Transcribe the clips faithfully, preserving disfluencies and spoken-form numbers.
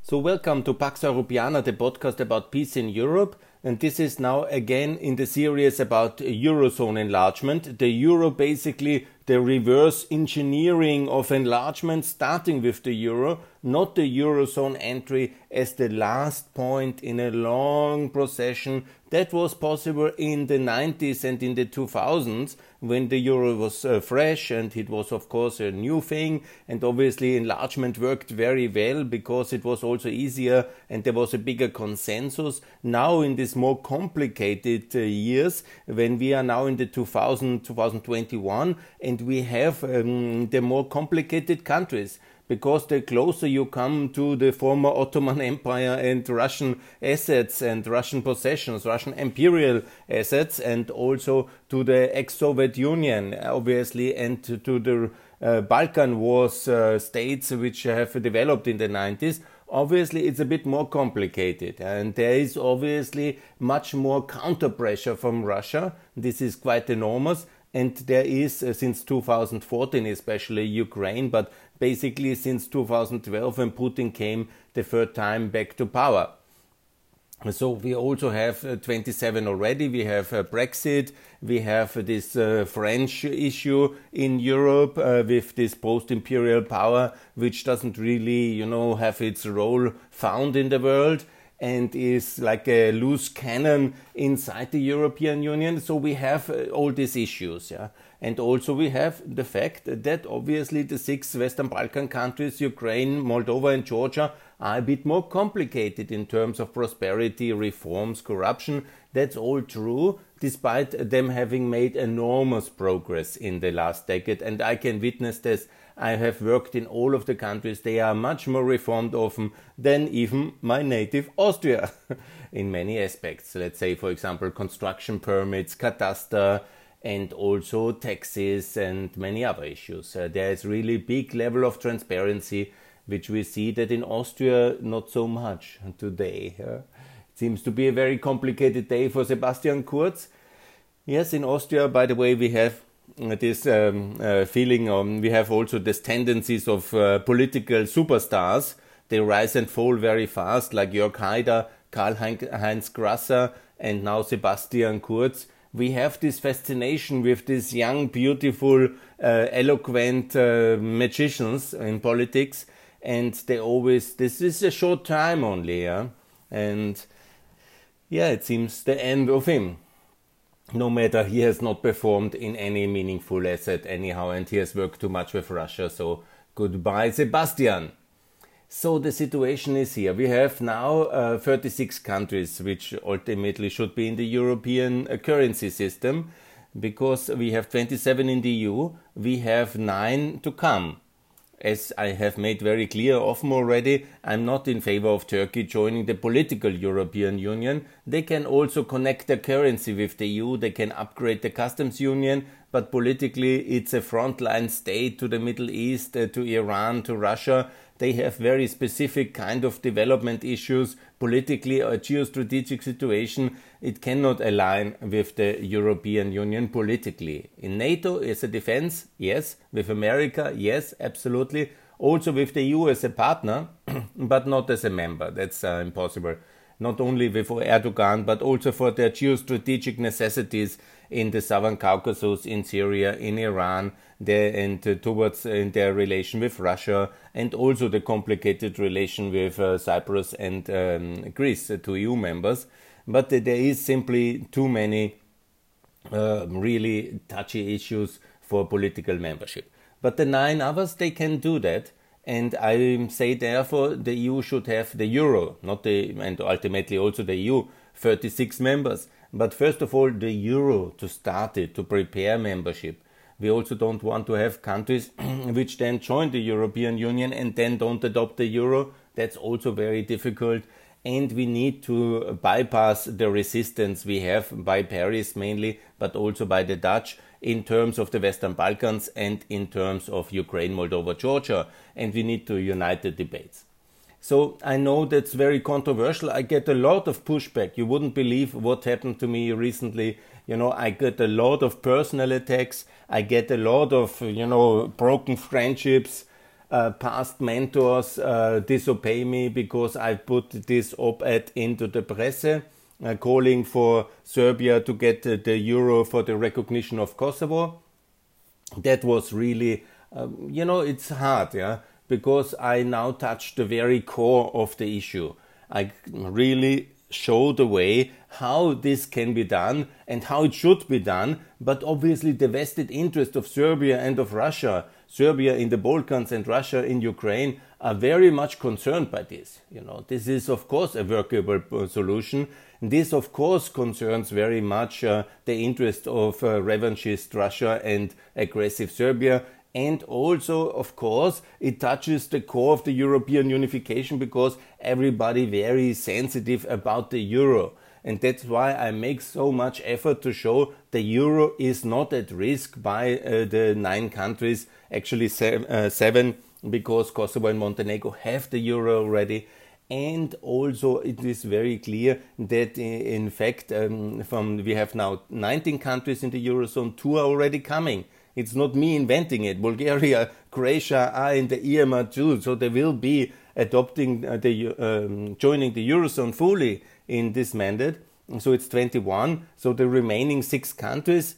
So welcome to Pax Europiana, the podcast about peace in Europe. And this is now again in the series about Eurozone enlargement. The Euro, basically the reverse engineering of enlargement, starting with the Euro, not the Eurozone entry as the last point in a long procession. That was possible in the nineties and in the two thousands when the Euro was uh, fresh, and it was of course a new thing, and obviously enlargement worked very well because it was also easier and there was a bigger consensus. Now in this more complicated uh, years, when we are now in the two thousand, twenty twenty-one, and we have um, the more complicated countries, because the closer you come to the former Ottoman Empire and Russian assets and Russian possessions, Russian imperial assets, and also to the ex-Soviet Union, obviously, and to, to the uh, Balkan Wars uh, states which have developed in the nineties, obviously it's a bit more complicated, and there is obviously much more counter pressure from Russia. This is quite enormous. And there is, uh, since two thousand fourteen, especially Ukraine, but basically since two thousand twelve, when Putin came the third time back to power. So we also have uh, twenty-seven already. We have uh, Brexit. We have uh, this uh, French issue in Europe uh, with this post-imperial power, which doesn't really, you know, have its role found in the world, and is like a loose cannon inside the European Union. So we have uh, all these issues, yeah. And also we have the fact that obviously the six Western Balkan countries, Ukraine, Moldova and Georgia, are a bit more complicated in terms of prosperity, reforms, corruption. That's all true, despite them having made enormous progress in the last decade. And I can witness this. I have worked in all of the countries. They are much more reformed often than even my native Austria in many aspects. Let's say, for example, construction permits, cadastre, and also taxes and many other issues. Uh, there is really big level of transparency, which we see that in Austria not so much today. Uh, it seems to be a very complicated day for Sebastian Kurz. Yes, in Austria, by the way, we have this um, uh, feeling, um, we have also these tendencies of uh, political superstars. They rise and fall very fast, like Jörg Haider, Karl-Heinz Grasser, and now Sebastian Kurz. We have this fascination with these young, beautiful, uh, eloquent uh, magicians in politics, and they always, this is a short time only, yeah? And yeah, it seems the end of him. No matter, he has not performed in any meaningful asset anyhow, and he has worked too much with Russia, so goodbye Sebastian. So the situation is here. We have now uh, thirty-six countries which ultimately should be in the European uh, currency system, because we have twenty-seven in the E U, we have nine to come. As I have made very clear often already, I'm not in favor of Turkey joining the political European Union. They can also connect their currency with the E U, they can upgrade the customs union, but politically it's a frontline state to the Middle East, uh, to Iran, to Russia. They have very specific kind of development issues, politically a geostrategic situation. It cannot align with the European Union politically. In NATO as a defense, yes. With America, yes, absolutely. Also with the E U as a partner, but not as a member. That's uh, impossible. Not only with Erdogan, but also for their geostrategic necessities in the Southern Caucasus, in Syria, in Iran, there, and uh, towards uh, in their relation with Russia, and also the complicated relation with uh, Cyprus and um, Greece, uh, two E U members. But uh, there is simply too many uh, really touchy issues for political membership. But the nine others, they can do that. And I say therefore the E U should have the euro, not the, and ultimately also the E U, thirty-six members. But first of all, the euro to start it, to prepare membership. We also don't want to have countries which then join the European Union and then don't adopt the euro. That's also very difficult. And we need to bypass the resistance we have by Paris mainly, but also by the Dutch, in terms of the Western Balkans and in terms of Ukraine, Moldova, Georgia. And we need to unite the debates. So I know that's very controversial. I get a lot of pushback. You wouldn't believe what happened to me recently. You know, I get a lot of personal attacks. I get a lot of, you know, broken friendships. uh, past mentors uh, disobey me because I put this op-ed into the presse, uh, calling for Serbia to get uh, the euro for the recognition of Kosovo. That was really, um, you know, it's hard, yeah, because I now touched the very core of the issue. I really show the way how this can be done and how it should be done, but obviously the vested interest of Serbia and of Russia, Serbia in the Balkans and Russia in Ukraine, are very much concerned by this. You know, this is of course a workable solution. This of course concerns very much uh, the interest of uh, revanchist Russia and aggressive Serbia. And also, of course, it touches the core of the European unification because everybody very sensitive about the euro. And that's why I make so much effort to show the euro is not at risk by uh, the nine countries, actually seven, uh, seven, because Kosovo and Montenegro have the euro already. And also it is very clear that in fact um, from we have now nineteen countries in the eurozone, two are already coming. It's not me inventing it. Bulgaria, Croatia are in the E M R too, so they will be adopting uh, the um, joining the eurozone fully in this mandate. So it's twenty-one. So the remaining six countries,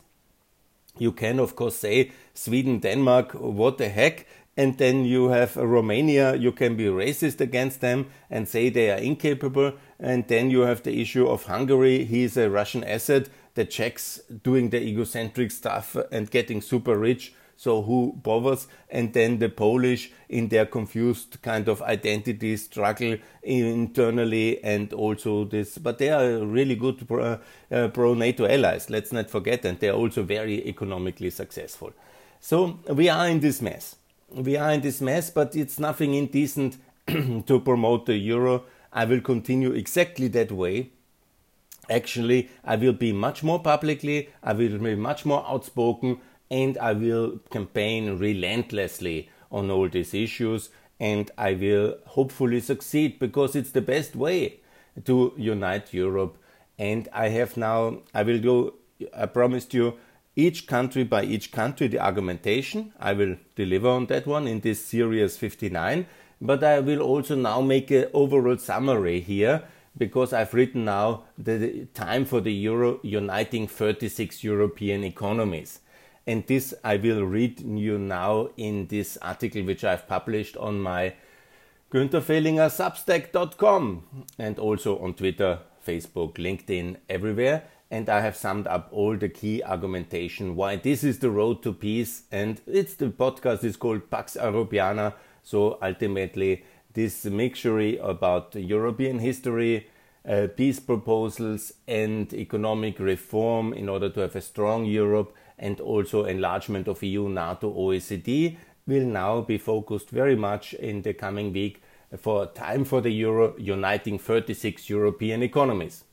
you can of course say Sweden, Denmark, what the heck, and then you have Romania. You can be racist against them and say they are incapable. And then you have the issue of Hungary. He is a Russian asset. The Czechs doing the egocentric stuff and getting super rich, so who bothers? And then the Polish in their confused kind of identity struggle internally, and also this, but they are really good pro, uh, pro-NATO allies, let's not forget, and they are also very economically successful. So we are in this mess. We are in this mess, but it's nothing indecent to promote the euro. I will continue exactly that way. Actually, I will be much more publicly, I will be much more outspoken, and I will campaign relentlessly on all these issues, and I will hopefully succeed because it's the best way to unite Europe. And I have now, I will do, I promised you, each country by each country, the argumentation. I will deliver on that one in this series fifty-nine, but I will also now make an overall summary here, because I've written now the time for the euro uniting thirty-six European economies. And this I will read you now in this article which I've published on my Günther Fehlinger Substack dot com and also on Twitter, Facebook, LinkedIn, everywhere. And I have summed up all the key argumentation why this is the road to peace. And it's the podcast is called Pax Europiana. So ultimately, this mixture about European history, uh, peace proposals and economic reform in order to have a strong Europe, and also enlargement of E U, NATO, O E C D will now be focused very much in the coming week for time for the euro uniting thirty-six European economies.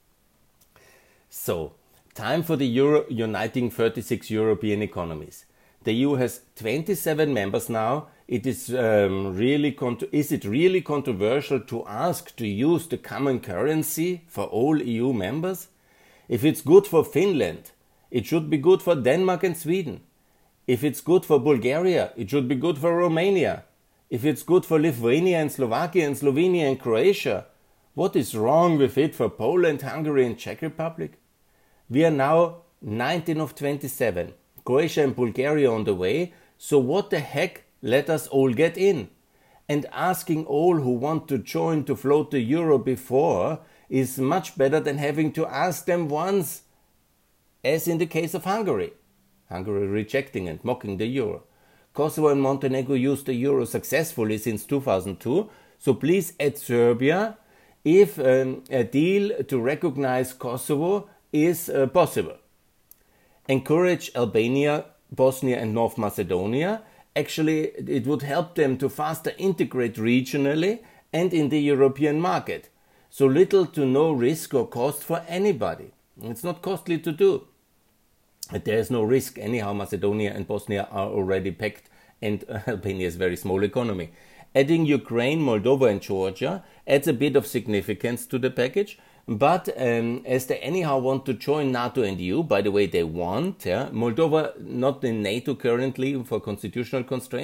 So, time for the euro uniting thirty-six European economies. The E U has twenty-seven members now. It is um, really con- is it really controversial to ask to use the common currency for all E U members? If it's good for Finland, it should be good for Denmark and Sweden. If it's good for Bulgaria, it should be good for Romania. If it's good for Lithuania and Slovakia and Slovenia and Croatia, what is wrong with it for Poland, Hungary and Czech Republic? We are now nineteen of twenty-seven. Croatia and Bulgaria on the way, so what the heck, let us all get in. And asking all who want to join to float the euro before is much better than having to ask them once, as in the case of Hungary. Hungary rejecting and mocking the euro. Kosovo and Montenegro used the euro successfully since two thousand two, so please add Serbia if um, a deal to recognize Kosovo is uh, possible. Encourage Albania, Bosnia and North Macedonia. Actually, it would help them to faster integrate regionally and in the European market. So little to no risk or cost for anybody. It's not costly to do. There is no risk. Anyhow, Macedonia and Bosnia are already packed, and Albania is a very small economy. Adding Ukraine, Moldova and Georgia adds a bit of significance to the package. But um, as they anyhow want to join NATO and E U, by the way, they want, yeah, Moldova not in NATO currently for constitutional constraints,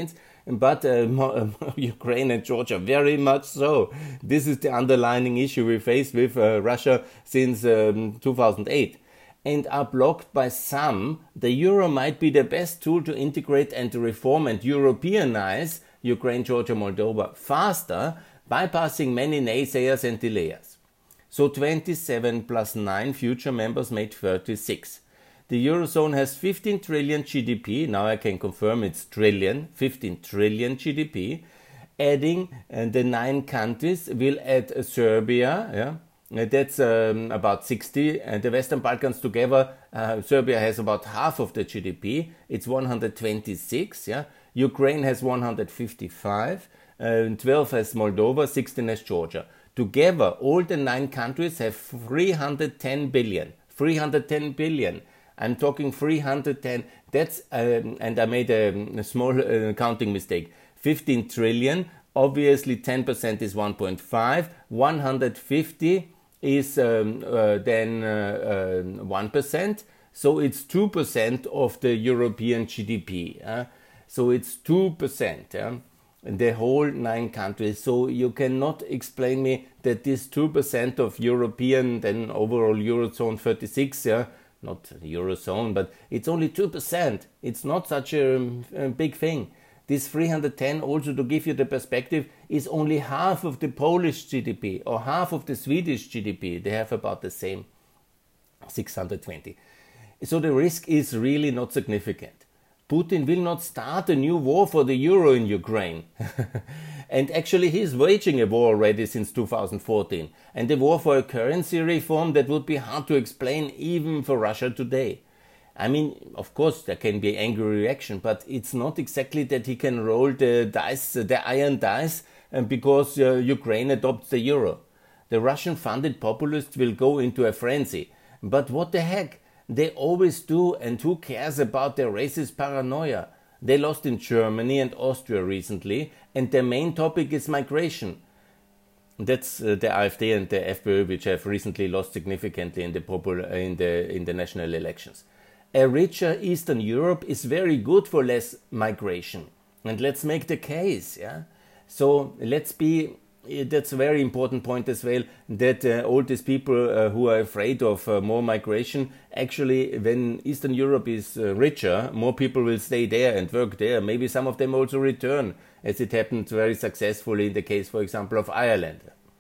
but uh, Ukraine and Georgia very much so. This is the underlying issue we face with uh, Russia since um, two thousand eight. And are blocked by some, the euro might be the best tool to integrate and reform and Europeanize Ukraine, Georgia, Moldova faster, bypassing many naysayers and delayers. So twenty-seven plus nine future members made thirty-six. The Eurozone has fifteen trillion G D P, now I can confirm it's trillion, fifteen trillion G D P. Adding uh, the nine countries will add uh, Serbia, yeah. That's um, about sixty, and the Western Balkans together, uh, Serbia has about half of the G D P, it's one hundred twenty-six, yeah. Ukraine has one hundred fifty-five, uh, twelve has Moldova, sixteen has Georgia. Together, all the nine countries have three hundred ten billion, three hundred ten billion. I'm talking three hundred ten, that's, um, and I made a, a small uh, counting mistake, fifteen trillion, obviously ten percent is one point five, one hundred fifty is um, uh, then uh, uh, one percent, so it's two percent of the European G D P. Uh? So it's two percent, yeah? The whole nine countries. So you cannot explain me that this two percent of European, then overall Eurozone thirty-six, yeah? Not Eurozone, but it's only two percent. It's not such a, a big thing. This three hundred ten, also to give you the perspective, is only half of the Polish G D P or half of the Swedish G D P. They have about the same, six hundred twenty. So the risk is really not significant. Putin will not start a new war for the euro in Ukraine. And actually he's waging a war already since two thousand fourteen. And a war for a currency reform that would be hard to explain even for Russia today. I mean, of course, there can be angry reaction, but it's not exactly that he can roll the dice, the iron dice, because uh, Ukraine adopts the euro. The Russian-funded populists will go into a frenzy. But what the heck? They always do, and who cares about their racist paranoia? They lost in Germany and Austria recently, and their main topic is migration. That's uh, the AfD and the FPÖ, which have recently lost significantly in the, popul- in the, in the national elections. A richer Eastern Europe is very good for less migration. And let's make the case, yeah? So let's be, that's a very important point as well, that uh, all these people uh, who are afraid of uh, more migration, actually when Eastern Europe is uh, richer, more people will stay there and work there. Maybe some of them also return, as it happened very successfully in the case, for example, of Ireland.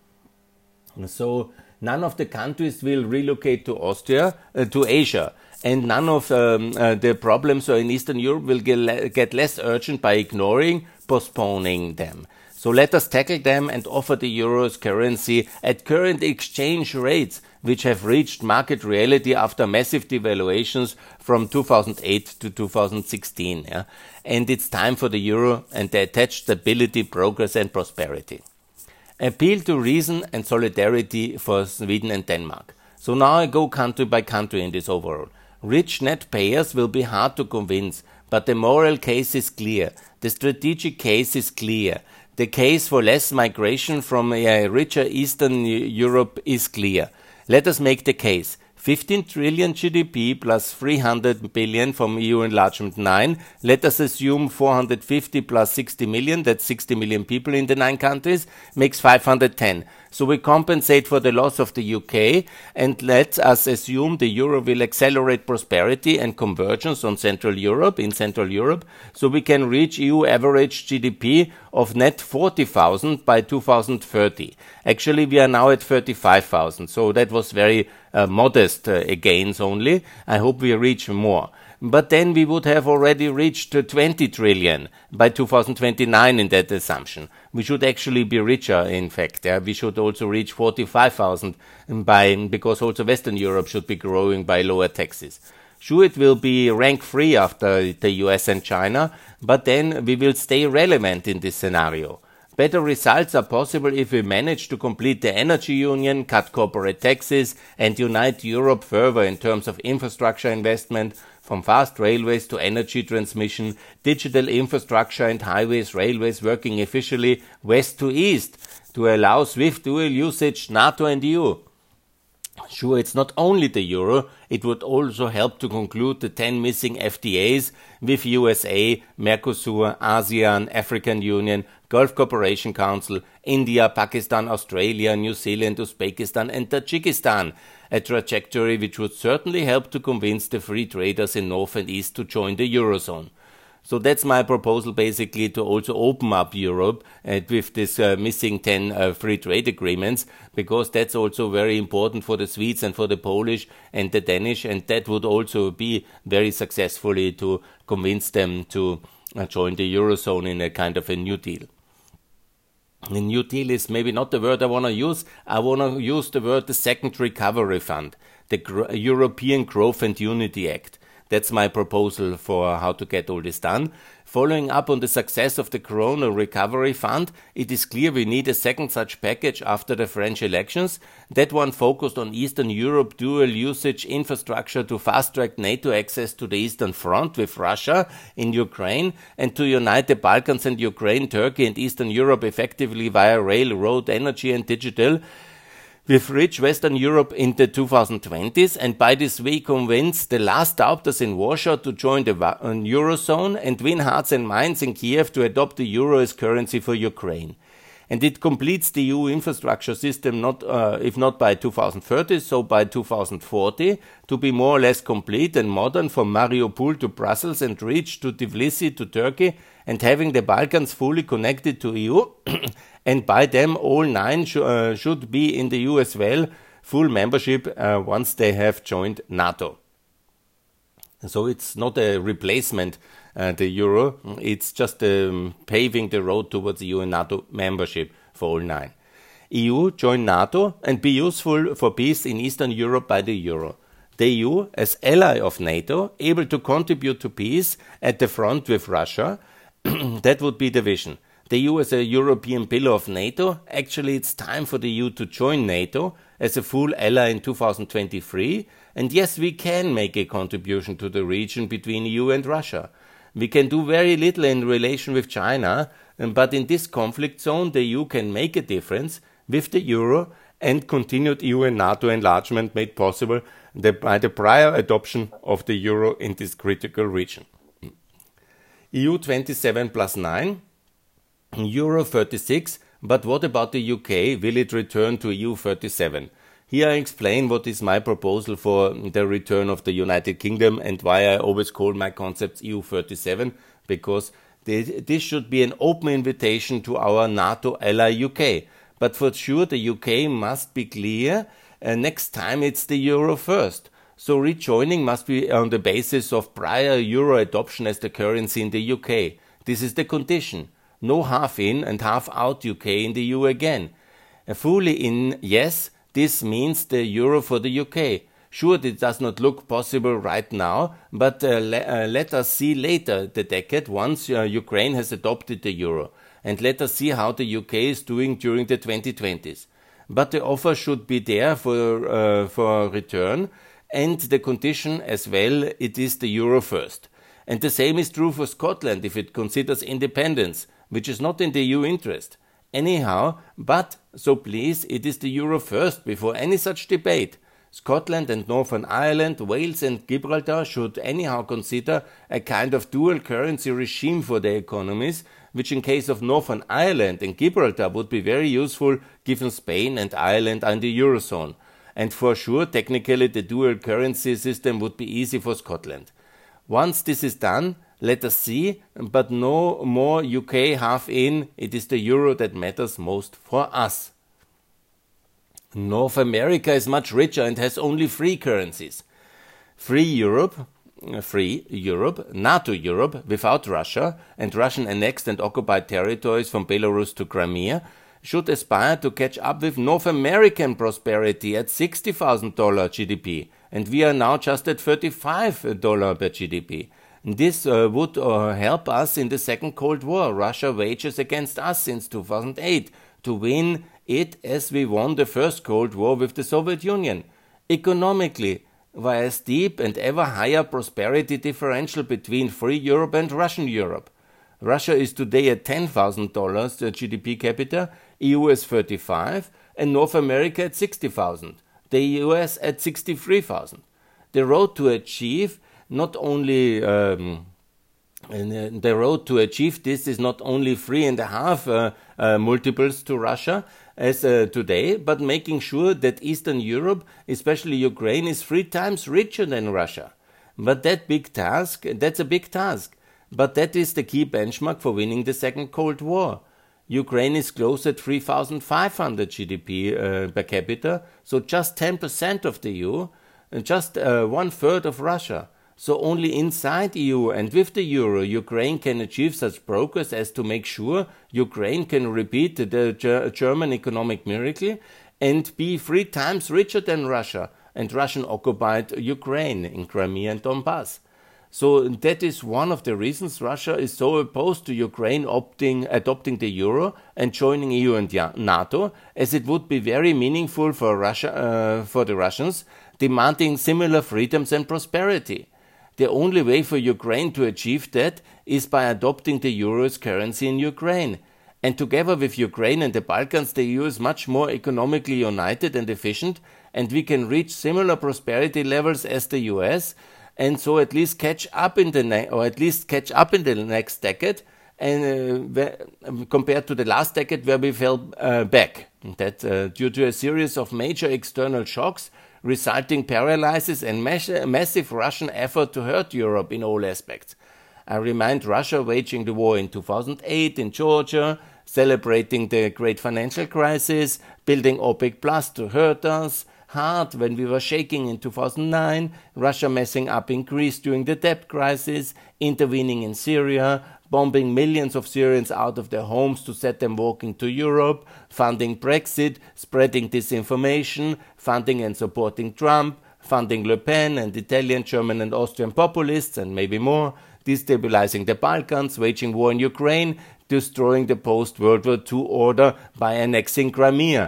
So none of the countries will relocate to Austria, uh, to Asia. And none of um, uh, the problems in Eastern Europe will get, le- get less urgent by ignoring, postponing them. So let us tackle them and offer the euro's currency at current exchange rates, which have reached market reality after massive devaluations from two thousand eight to two thousand sixteen. Yeah? And it's time for the euro and the attached stability, progress and prosperity. Appeal to reason and solidarity for Sweden and Denmark. So now I go country by country in this overall. Rich net payers will be hard to convince, but the moral case is clear. The strategic case is clear. The case for less migration from a richer Eastern Europe is clear. Let us make the case. fifteen trillion G D P plus three hundred billion from E U enlargement nine. Let us assume four hundred fifty plus sixty million, that's sixty million people in the nine countries, makes five hundred ten. So we compensate for the loss of the U K, and let us assume the euro will accelerate prosperity and convergence on Central Europe, in Central Europe, so we can reach E U average G D P of net forty thousand by two thousand thirty. Actually, we are now at thirty-five thousand, so that was very uh, modest uh, gains only. I hope we reach more. But then we would have already reached uh, twenty trillion by two thousand twenty-nine in that assumption. We should actually be richer, in fact. Yeah? We should also reach forty-five thousand by, because also Western Europe should be growing by lower taxes. Sure, it will be rank-free after the U S and China, but then we will stay relevant in this scenario. Better results are possible if we manage to complete the energy union, cut corporate taxes, and unite Europe further in terms of infrastructure investment, from fast railways to energy transmission, digital infrastructure and highways, railways working efficiently west to east to allow swift dual usage NATO and E U. Sure, it's not only the euro, it would also help to conclude the ten missing F T As with U S A, Mercosur, ASEAN, African Union, Gulf Cooperation Council, India, Pakistan, Australia, New Zealand, Uzbekistan and Tajikistan, a trajectory which would certainly help to convince the free traders in North and East to join the Eurozone. So that's my proposal, basically, to also open up Europe uh, with this uh, missing ten uh, free trade agreements, because that's also very important for the Swedes and for the Polish and the Danish, and that would also be very successfully to convince them to uh, join the Eurozone in a kind of a New Deal. The New Deal is maybe not the word I want to use. I want to use the word the Second Recovery Fund, the Gro- European Growth and Unity Act. That's my proposal for how to get all this done. Following up on the success of the Corona Recovery Fund, it is clear we need a second such package after the French elections. That one focused on Eastern Europe dual usage infrastructure to fast-track NATO access to the Eastern Front with Russia in Ukraine and to unite the Balkans and Ukraine, Turkey and Eastern Europe effectively via rail, road, energy and digital, with rich Western Europe in the two thousand twenties, and by this way convince the last doubters in Warsaw to join the Eurozone and win hearts and minds in Kiev to adopt the euro as currency for Ukraine. And it completes the E U infrastructure system, not uh, if not by two thousand thirty, so by two thousand forty, to be more or less complete and modern from Mariupol to Brussels and reach to Tbilisi to Turkey, and having the Balkans fully connected to E U, and by them all nine sh- uh, should be in the E U as well, full membership uh, once they have joined NATO. So it's not a replacement, uh, the euro, it's just um, paving the road towards E U and NATO membership for all nine. E U join NATO and be useful for peace in Eastern Europe by the euro. The E U, as ally of NATO, able to contribute to peace at the front with Russia, that would be the vision. The E U as a European pillar of NATO, actually it's time for the E U to join NATO as a full ally in two thousand twenty-three, and yes, we can make a contribution to the region between E U and Russia. We can do very little in relation with China, but in this conflict zone the E U can make a difference with the euro and continued E U and NATO enlargement made possible by the prior adoption of the euro in this critical region. E U twenty-seven plus nine, euro thirty-six, but what about the U K? Will it return to E U thirty-seven? Here I explain what is my proposal for the return of the United Kingdom and why I always call my concepts E U thirty-seven, because this should be an open invitation to our NATO ally U K. But for sure the U K must be clear, uh, next time it's the euro first. So rejoining must be on the basis of prior euro adoption as the currency in the U K. This is the condition. No half in and half out U K in the E U again. Uh, fully in, yes, this means the euro for the U K. Sure, it does not look possible right now, but uh, le- uh, let us see later the decade once uh, Ukraine has adopted the euro. And let us see how the U K is doing during the twenty twenties. But the offer should be there for, uh, for return, and the condition as well, it is the euro first. And the same is true for Scotland if it considers independence, which is not in the E U interest. Anyhow, but, so please, it is the euro first before any such debate. Scotland and Northern Ireland, Wales and Gibraltar should anyhow consider a kind of dual currency regime for their economies, which in case of Northern Ireland and Gibraltar would be very useful given Spain and Ireland are in the Eurozone. And for sure, technically the dual currency system would be easy for Scotland. Once this is done, let us see, but no more U K half in, it is the euro that matters most for us. North America is much richer and has only three currencies. Free Europe, free Europe, NATO Europe without Russia and Russian annexed and occupied territories from Belarus to Crimea should aspire to catch up with North American prosperity at sixty thousand dollars G D P, and we are now just at thirty-five dollars per G D P. This uh, would uh, help us in the Second Cold War Russia wages against us since two thousand eight to win it as we won the First Cold War with the Soviet Union. Economically, via a steep and ever higher prosperity differential between free Europe and Russian Europe. Russia is today at ten thousand dollars G D P capita, E U is thirty-five, and North America at sixty thousand. the U S at sixty-three thousand. The road to achieve not only um, and the road to achieve this is not only three and a half uh, uh, multiples to Russia as uh, today, but making sure that Eastern Europe, especially Ukraine, is three times richer than Russia. But that big task, that's a big task. But that is the key benchmark for winning the Second Cold War. Ukraine is close at three thousand five hundred G D P uh, per capita, so just ten percent of the E U, and just uh, one third of Russia. So only inside E U and with the euro, Ukraine can achieve such progress as to make sure Ukraine can repeat the Ger- German economic miracle and be three times richer than Russia and Russian-occupied Ukraine in Crimea and Donbass. So that is one of the reasons Russia is so opposed to Ukraine opting, adopting the euro and joining E U and NATO, as it would be very meaningful for Russia, uh, for the Russians, demanding similar freedoms and prosperity. The only way for Ukraine to achieve that is by adopting the euro as currency in Ukraine. And together with Ukraine and the Balkans, the E U is much more economically united and efficient, and we can reach similar prosperity levels as the U S, and so at least catch up in the ne- or at least catch up in the next decade, and uh, compared to the last decade where we fell uh, back. That uh, due to a series of major external shocks, resulting paralysis and mass- massive Russian effort to hurt Europe in all aspects. I remind Russia waging the war in two thousand eight in Georgia, celebrating the great financial crisis, building OPEC Plus to hurt us hard when we were shaking in two thousand nine, Russia messing up in Greece during the debt crisis, intervening in Syria, bombing millions of Syrians out of their homes to set them walking to Europe, funding Brexit, spreading disinformation, funding and supporting Trump, funding Le Pen and Italian, German and Austrian populists and maybe more, destabilizing the Balkans, waging war in Ukraine, destroying the post-World War Two order by annexing Crimea,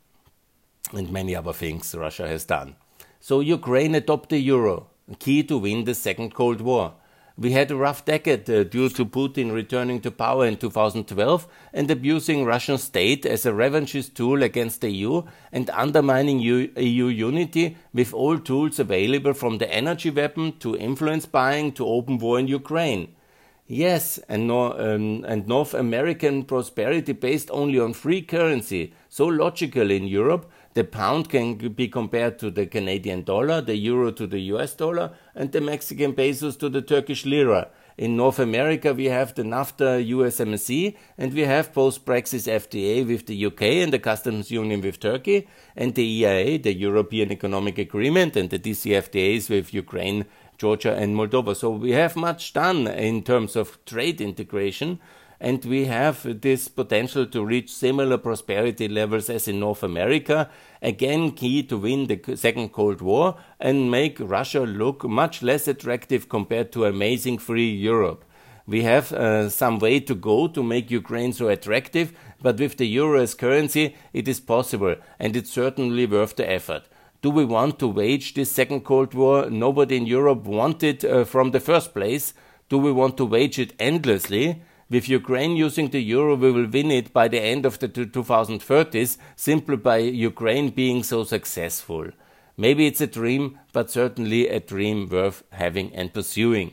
and many other things Russia has done. So Ukraine adopt the euro, key to win the Second Cold War. We had a rough decade uh, due to Putin returning to power in two thousand twelve and abusing Russian state as a revanchist tool against the E U and undermining E U unity with all tools available from the energy weapon to influence buying to open war in Ukraine. Yes, and, no, um, and North American prosperity based only on free currency, so logical in Europe. The pound can be compared to the Canadian dollar, the euro to the U S dollar, and the Mexican pesos to the Turkish lira. In North America, we have the NAFTA U S M C A, and we have post-Brexit F T A with the U K and the customs union with Turkey, and the E I A, the European Economic Agreement, and the D C F T As with Ukraine, Georgia, and Moldova. So we have much done in terms of trade integration, and we have this potential to reach similar prosperity levels as in North America, again key to win the Second Cold War and make Russia look much less attractive compared to amazing free Europe. We have uh, some way to go to make Ukraine so attractive, but with the euro as currency, it is possible, and it's certainly worth the effort. Do we want to wage this Second Cold War nobody in Europe wanted uh, from the first place? Do we want to wage it endlessly? With Ukraine using the euro, we will win it by the end of the twenty thirties, simply by Ukraine being so successful. Maybe it's a dream, but certainly a dream worth having and pursuing.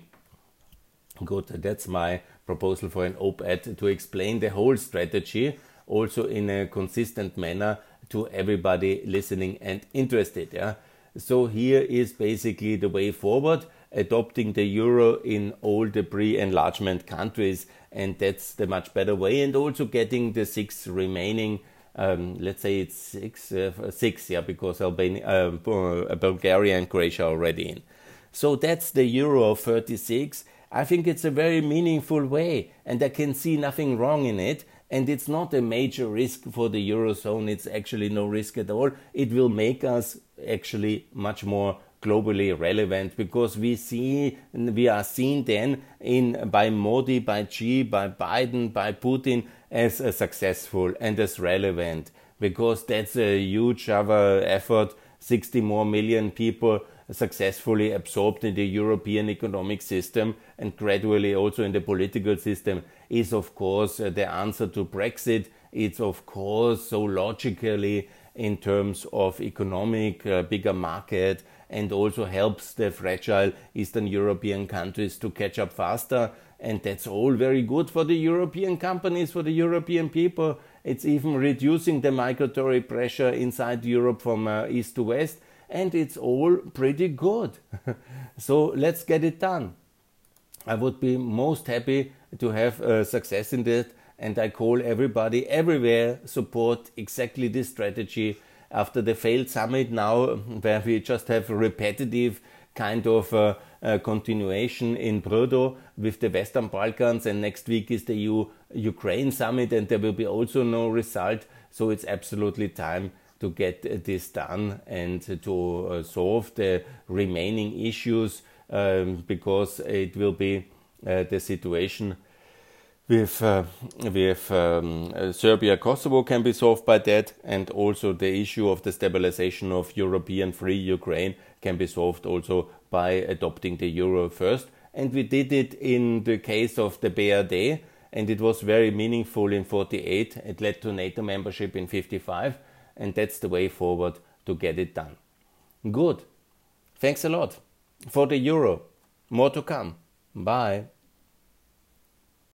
Good, that's my proposal for an op-ed to explain the whole strategy, also in a consistent manner to everybody listening and interested. Yeah? So here is basically the way forward, adopting the euro in all the pre-enlargement countries, and that's the much better way, and also getting the six remaining, um, let's say it's six, uh, six, yeah, because Albania, uh, Bulgaria and Croatia are already in. So that's the euro of thirty-six. I think it's a very meaningful way, and I can see nothing wrong in it. And it's not a major risk for the Eurozone. It's actually no risk at all. It will make us actually much more globally relevant, because we see, we are seen then in by Modi, by Xi, by Biden, by Putin as uh, successful and as relevant, because that's a huge other effort. sixty more million people successfully absorbed in the European economic system and gradually also in the political system is of course uh, the answer to Brexit. It's of course so logically in terms of economic, uh, bigger market, and also helps the fragile Eastern European countries to catch up faster. And that's all very good for the European companies, for the European people. It's even reducing the migratory pressure inside Europe from uh, east to west. And it's all pretty good. So let's get it done. I would be most happy to have uh, success in that. And I call everybody everywhere support exactly this strategy. After the failed summit now, where we just have a repetitive kind of uh, uh, continuation in Brdo with the Western Balkans, and next week is the E U-Ukraine summit, and there will be also no result. So it's absolutely time to get this done and to uh, solve the remaining issues, um, because it will be uh, the situation with uh, with um, uh, Serbia, Kosovo can be solved by that, and also the issue of the stabilization of European free Ukraine can be solved also by adopting the euro first. And we did it in the case of the B R D, and it was very meaningful in forty-eight. It led to NATO membership in fifty-five, and that's the way forward to get it done. Good. Thanks a lot for the euro. More to come. Bye.